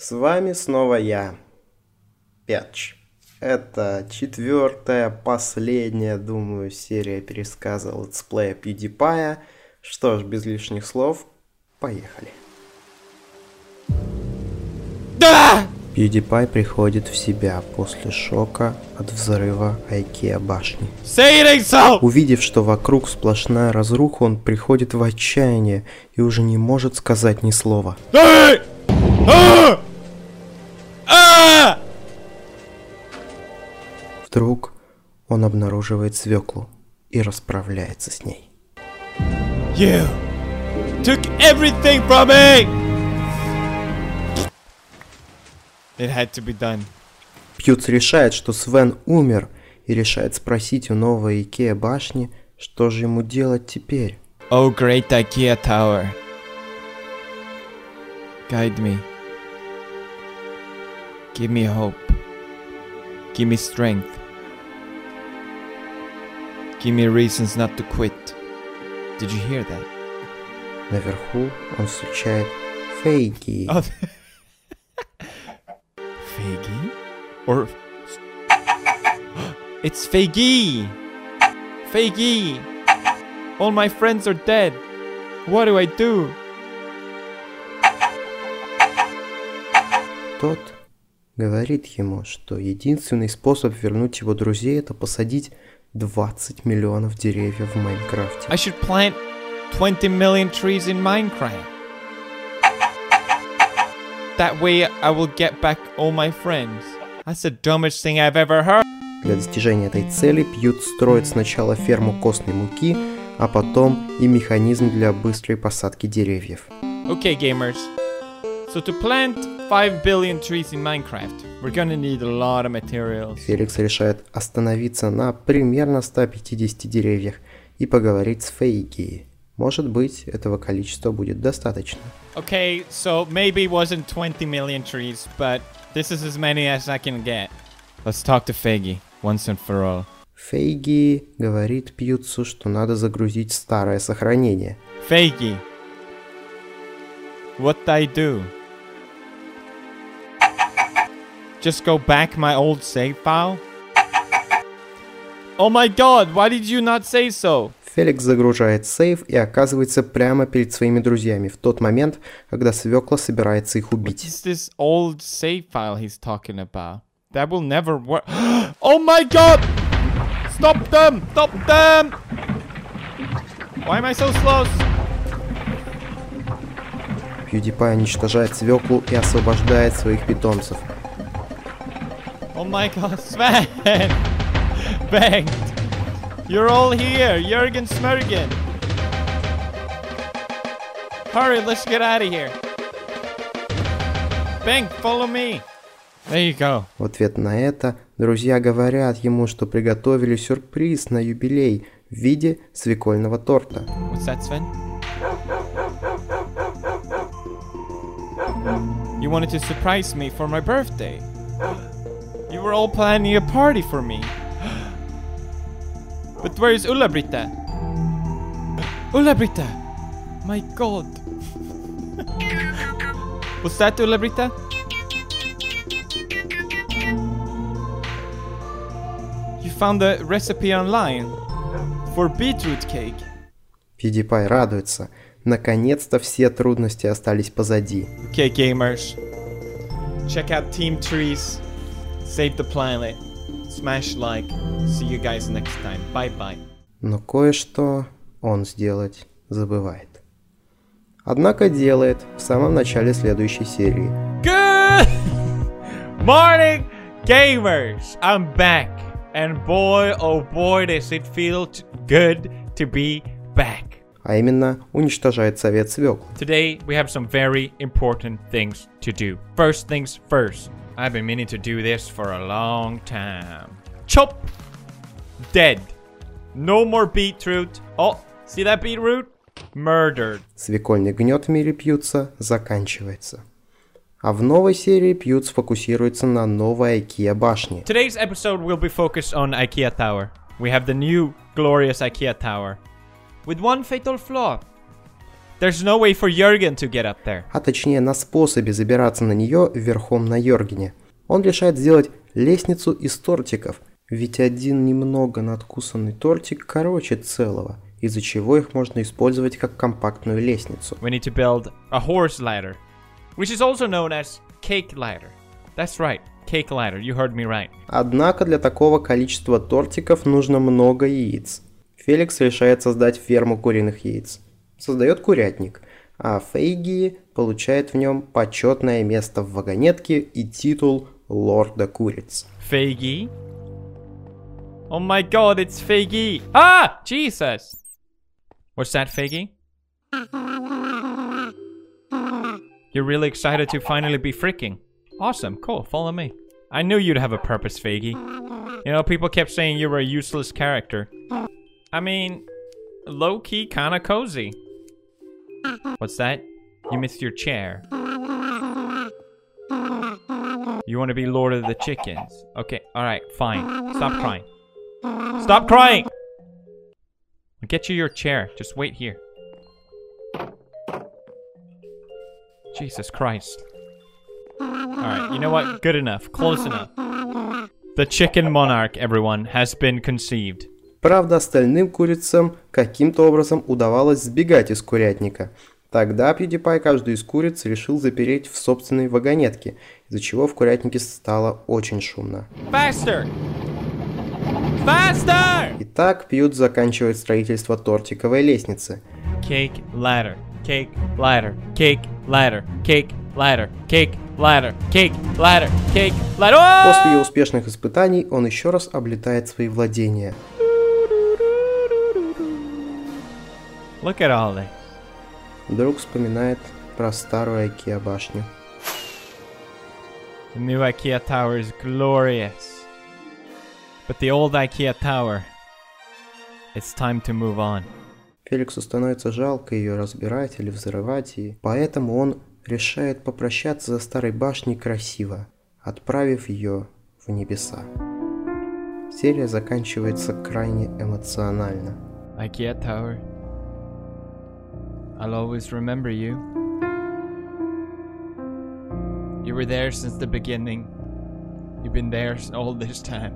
С вами снова я, Пятч. Это четвертая, последняя, думаю, серия пересказа летсплея PewDiePie. Что ж, без лишних слов, поехали. Да! PewDiePie приходит в себя после шока от взрыва IKEA башни. Увидев, что вокруг сплошная разруха, он приходит в отчаяние и уже не может сказать ни слова. Вдруг он обнаруживает свеклу и расправляется с ней. You took everything from me! It had to be done. Пьюц решает, что Свен умер, и решает спросить у новой IKEA башни, что же ему делать теперь. Oh, great IKEA tower. Guide me. Give me hope. Give me strength. Give me reasons not to quit. Did you hear that? Наверху он встречает Фейги. Oh. Feigy? Or... It's Feigy! Feigy! All my friends are dead. What do I do? Тот говорит ему, что единственный способ вернуть его друзей — это посадить 20 миллионов деревьев в Майнкрафте. I should plant 20 million trees in Minecraft. That way I will get back all my friends. That's the dumbest thing I've ever heard. Для достижения этой цели Пьют строит сначала ферму костной муки, а потом и механизм для быстрой посадки деревьев. Okay, gamers. So to plant 5 billion trees in Minecraft, we're gonna need a lot of materials. Феликс решает остановиться на примерно 150 деревьях и поговорить с Фейги. Может быть, этого количества будет достаточно. Okay, so maybe it wasn't 20 million trees, but this is as many as I can get. Let's talk to Feigy once and for all. Фейги говорит Пьюцу, что надо загрузить старое сохранение. Feigy, what I do? Just go back my old save file? Oh my god, why did you not say so? Феликс загружает сейв и оказывается прямо перед своими друзьями в тот момент, когда свекла собирается их What убить. is this old save file he's talking about? That will never work. Oh my god! Stop them! Stop them! Why am I so slow? PewDiePie уничтожает свеклу и освобождает своих питомцев. Oh my god, Sven! Bengt! You're all here! Jürgen Smurgen! Hurry, let's get out of here! Bengt, follow me! There you go. В ответ на это друзья говорят ему, что приготовили сюрприз на юбилей в виде свекольного торта. What's that, Sven? You wanted to surprise me for my birthday. You were all planning a party for me. But where is Ulla-Britta? Ulla-Britta! My god. Was that Ulla-Britta? You found the recipe online for beetroot cake. PewDiePie радуется. Наконец-то все трудности остались позади. Okay, gamers. Check out Team Trees. Save the planet. Smash like. See you guys next time. Bye-bye. Но кое-что он сделать забывает. Однако делает в самом начале следующей серии. Good morning, gamers! I'm back. And boy, oh boy, does it feel good to be back. А именно, уничтожает совет свекл. Today, we have some very important things to do. First things first. I've been meaning to do this for a long time. Chop! Dead. No more beetroot. Oh, see that beetroot? Murdered. Свекольный гнет в мире Пьюца заканчивается. А в новой серии Пьют сфокусируется на новой IKEA башне. Today's episode will be focused on IKEA Tower. We have the new glorious IKEA Tower. With one fatal flaw. There's no way for Jürgen to get up there. А точнее на способе забираться на нее верхом на Йоргене. Он решает сделать лестницу из тортиков, ведь один немного надкусанный тортик короче целого, из-за чего их можно использовать как компактную лестницу. We need to build a horse ladder, which is also known as cake ladder. That's right, cake ladder, you heard me right. Однако для такого количества тортиков нужно много яиц. Феликс решает создать ферму куриных яиц. Создает курятник, а Фейги получает в нем почетное место в вагонетке и титул лорда куриц. Фейги? Oh my god, it's Feigy! Ah! Jesus! What's that, Feigy? You're really excited to finally be freaking. Awesome, cool, follow me. I knew you'd have a purpose, Feigy. You know, people kept saying you were a useless character. I mean, low-key kinda cozy. What's that? You missed your chair. You want to be Lord of the Chickens. Okay, alright, fine. Stop crying. Stop crying! I'll get you your chair. Just wait here. Jesus Christ. Alright, you know what? Good enough. Close enough. The chicken monarch, everyone, has been conceived. Правда, остальным курицам каким-то образом удавалось сбегать из курятника. Тогда PewDiePie каждую из куриц решил запереть в собственной вагонетке, из-за чего в курятнике стало очень шумно. Faster! Faster! Итак, Пьют заканчивает строительство тортиковой лестницы. Cake ladder, cake ladder, cake ladder, cake ladder, cake ladder, cake ladder, cake ladder. После успешных испытаний он еще раз облетает свои владения. Look at all this. Вдруг вспоминает про старую IKEA башню. The new IKEA tower is glorious. But the old IKEA tower, it's time to move on. Феликсу становится жалко ее разбирать или взрывать, и поэтому он решает попрощаться со старой башней красиво, отправив ее в небеса. Серия заканчивается крайне эмоционально. IKEA tower, I'll always remember you. You were there since the beginning. You've been there all this time.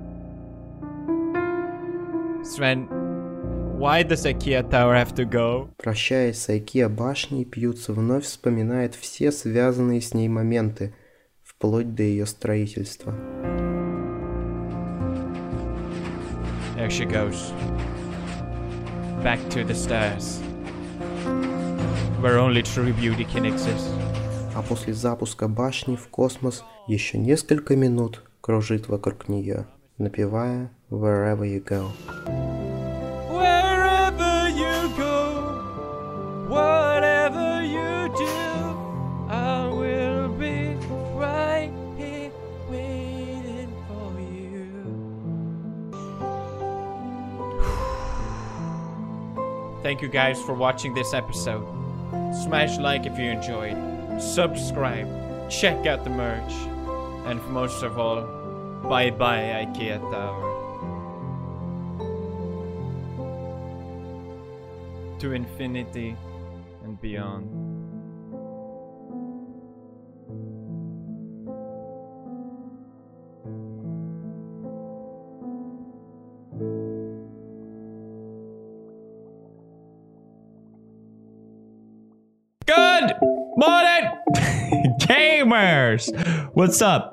Sven, why does IKEA tower have to go? Прощаясь с IKEA башней, Пьютс вновь вспоминает все связанные с ней моменты, вплоть до ее строительства. There she goes. Back to the stars. Where only true beauty can exist. А после запуска башни в космос еще несколько минут кружит вокруг нее, напевая Wherever You Go. Wherever you go, whatever you do, I will be right here waiting for you. Thank you guys for watching this episode. Smash like if you enjoyed. Subscribe. Check out the merch. And most of all, bye bye IKEA Tower. To infinity and beyond. Good morning, gamers! What's up?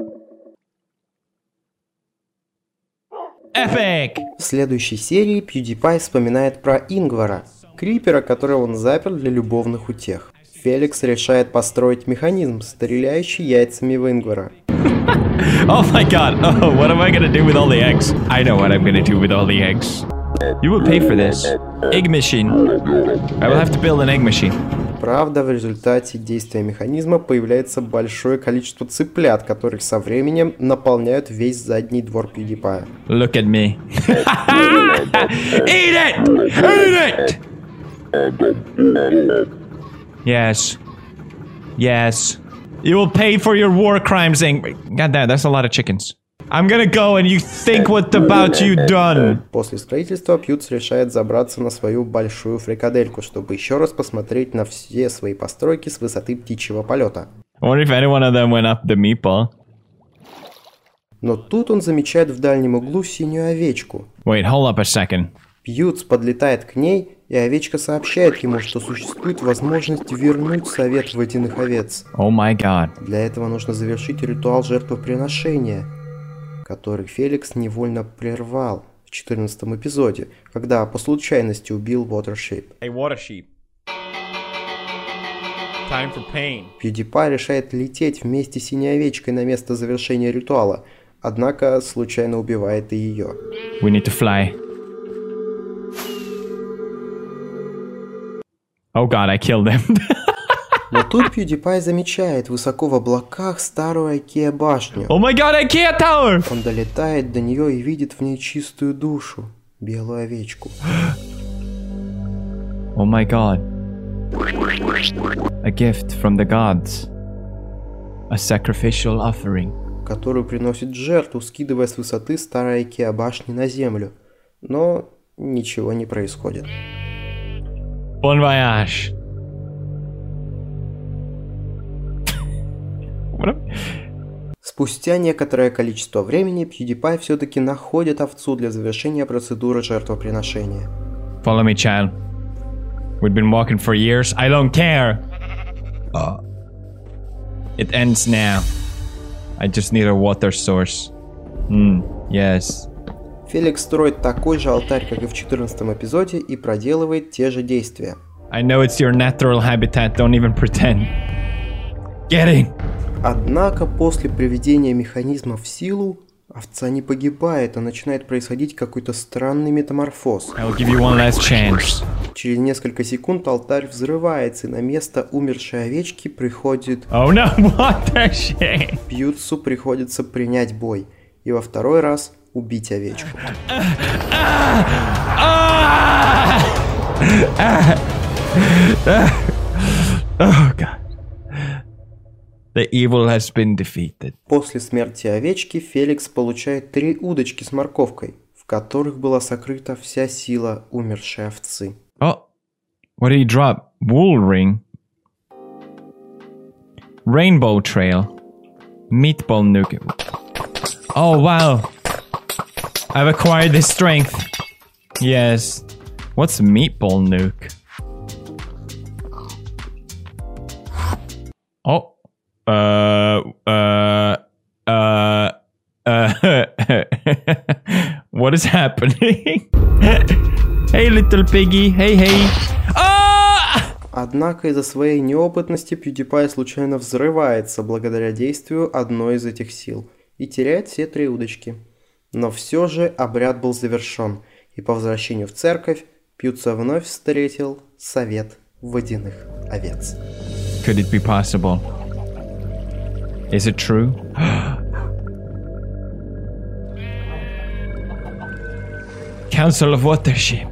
Epic! В следующей серии PewDiePie вспоминает про Ингвара, крипера, которого он запер для любовных утех. Феликс решает построить механизм, стреляющий яйцами в Ингвара. Oh my god, oh, what am I gonna do with all the eggs? I know what I'm gonna do with all the eggs. You will pay for this. Egg machine. I will have to build an egg machine. Правда, в результате действия механизма появляется большое количество цыплят, которых со временем наполняют весь задний двор PewDiePie. Look at me. Eat it! Eat it! Yes. Yes. You will pay for your war crimes, God damn, that's a lot of chickens. I'm gonna go and you think what about you done. После строительства Пьюц решает забраться на свою большую фрикадельку, чтобы еще раз посмотреть на все свои постройки с высоты птичьего полета. I wonder if any one of them went up the meatball. Но тут он замечает в дальнем углу синюю овечку. Wait, hold up a second. Пьюц подлетает к ней, и овечка сообщает ему, что существует возможность вернуть совет водяных овец. Oh my god. Для этого нужно завершить ритуал жертвоприношения, который Феликс невольно прервал в 14-м эпизоде, когда по случайности убил Watership. Hey, Watership. Time for pain. PewDiePie решает лететь вместе с синей овечкой на место завершения ритуала, однако случайно убивает и ее. We need to fly. Oh god, I killed them. Но тут PewDiePie замечает высоко в облаках старую IKEA башню. Oh my god, IKEA Tower! Он долетает до нее и видит в ней чистую душу, белую овечку. Oh my god. A gift from the gods. A sacrificial offering. Которую приносит жертву, скидывая с высоты старой IKEA башни на землю. Но ничего не происходит. Bon voyage. Спустя некоторое количество времени PewDiePie все-таки находит овцу для завершения процедуры жертвоприношения. Follow me, child. We've been walking for years. I don't care. It ends now. I just need a water source. Yes. Феликс строит такой же алтарь, как и в 14-м эпизоде, и проделывает те же действия. I know it's your natural habitat, don't even pretend. Get in! Однако после приведения механизма в силу, овца не погибает, а начинает происходить какой-то странный метаморфоз. I'll give you one last chance. Через несколько секунд алтарь взрывается, и на место умершей овечки приходит... Oh no, what the shit? Пьюцу приходится принять бой, и во второй раз убить овечку. Oh god. The evil has been defeated. После смерти овечки Феликс получает 3 удочки с морковкой, в которых была сокрыта вся сила умершей овцы. Oh, what did he drop? Wool ring. Rainbow trail. Meatball nuke. Oh wow. I've acquired this strength. Yes. What's meatball nuke? Oh. What is happening? Hey, little piggy. Hey, hey. Однако из-за своей неопытности PewDiePie случайно взрывается благодаря действию одной из этих сил и теряет все 3 удочки. Но все же обряд был завершен, и по возвращению в церковь Пьюца вновь встретил совет водяных овец. Could it be possible? Is it true? Council of Watership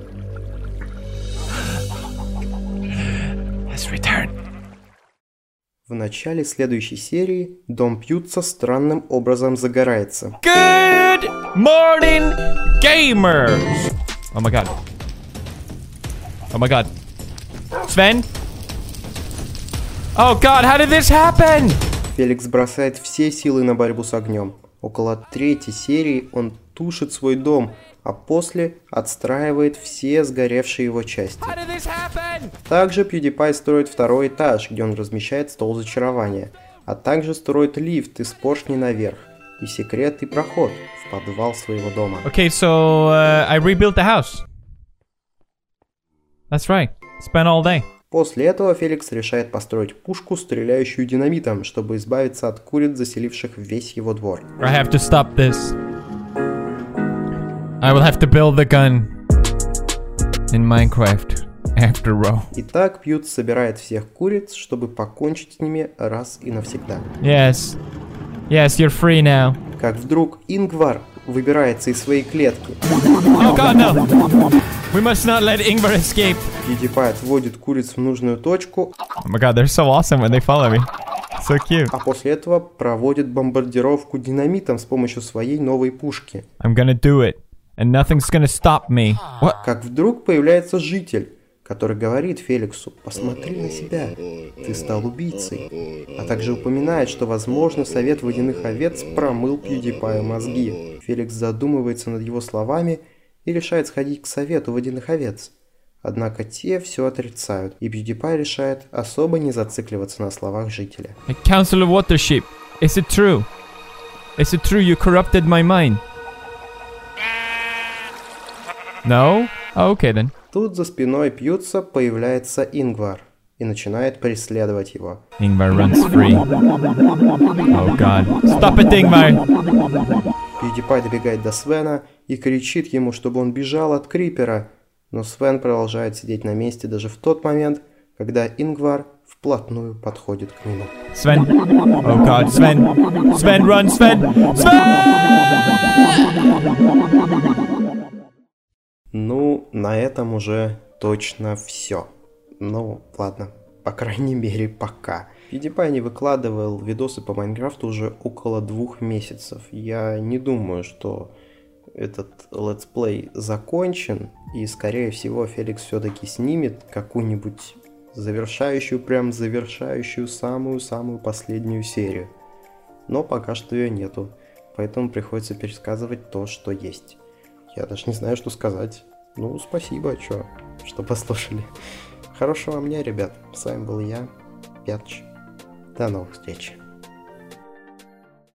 has returned. В начале следующей серии дом Пьюца странным образом загорается. Good morning, gamers! Oh my god. Oh my god. Sven? Oh god, how did this happen? Феликс бросает все силы на борьбу с огнем. Около 3-й серии он тушит свой дом, а после отстраивает все сгоревшие его части. Также PewDiePie строит 2-й этаж, где он размещает стол зачарования, а также строит лифт из поршней наверх и секретный проход в подвал своего дома. Okay, so I rebuilt the house. That's right. Spent all day. После этого Феликс решает построить пушку, стреляющую динамитом, чтобы избавиться от куриц, заселивших весь его двор. I have to stop this. I will have to build the gun in Minecraft after all. Итак, Пьюц собирает всех куриц, чтобы покончить с ними раз и навсегда. Yes. Yes, you're free now. Как вдруг Ингвар выбирается из своей клетки. Oh god, no! We must not let Ingvar escape. PewDiePie отводит куриц в нужную точку. Oh my god, they're so awesome when they follow me. so cute. А после этого проводит бомбардировку динамитом с помощью своей новой пушки. I'm gonna do it, and nothing's gonna stop me. What? Как вдруг появляется житель, который говорит Феликсу: посмотри на себя, ты стал убийцей. А также упоминает, что, возможно, совет водяных овец промыл PewDiePie мозги. Феликс задумывается над его словами и решает сходить к совету водяных овец. Однако те все отрицают, и PewDiePie решает особо не зацикливаться на словах жителя. Council of Watership, is it true? Is it true you corrupted my mind? No? Oh, okay then. Тут за спиной Пьюца появляется Ингвар и начинает преследовать его. Ingvar runs free. Oh god. Stop it, Ingvar! PewDiePie добегает до Свена и кричит ему, чтобы он бежал от Крипера, но Свен продолжает сидеть на месте даже в тот момент, когда Ингвар вплотную подходит к нему. Sven! Oh god, Sven! Sven, run, Sven! Sven! Ну, на этом уже точно все. Ну, ладно, по крайней мере, пока. PewDiePie не выкладывал видосы по Майнкрафту уже около 2 месяцев. Я не думаю, что этот летсплей закончен, и, скорее всего, Феликс все-таки снимет какую-нибудь завершающую самую-самую последнюю серию. Но пока что ее нету, поэтому приходится пересказывать то, что есть. Я даже не знаю, что сказать. Ну, спасибо, что послушали. Хорошего вам дня, ребят. С вами был я, Пятч. До новых встреч.